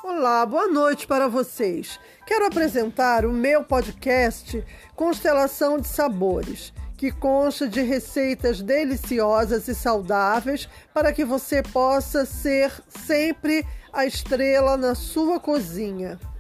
Olá, boa noite para vocês. Quero apresentar o meu podcast Constelação de Sabores, que consta de receitas deliciosas e saudáveis para que você possa ser sempre a estrela na sua cozinha.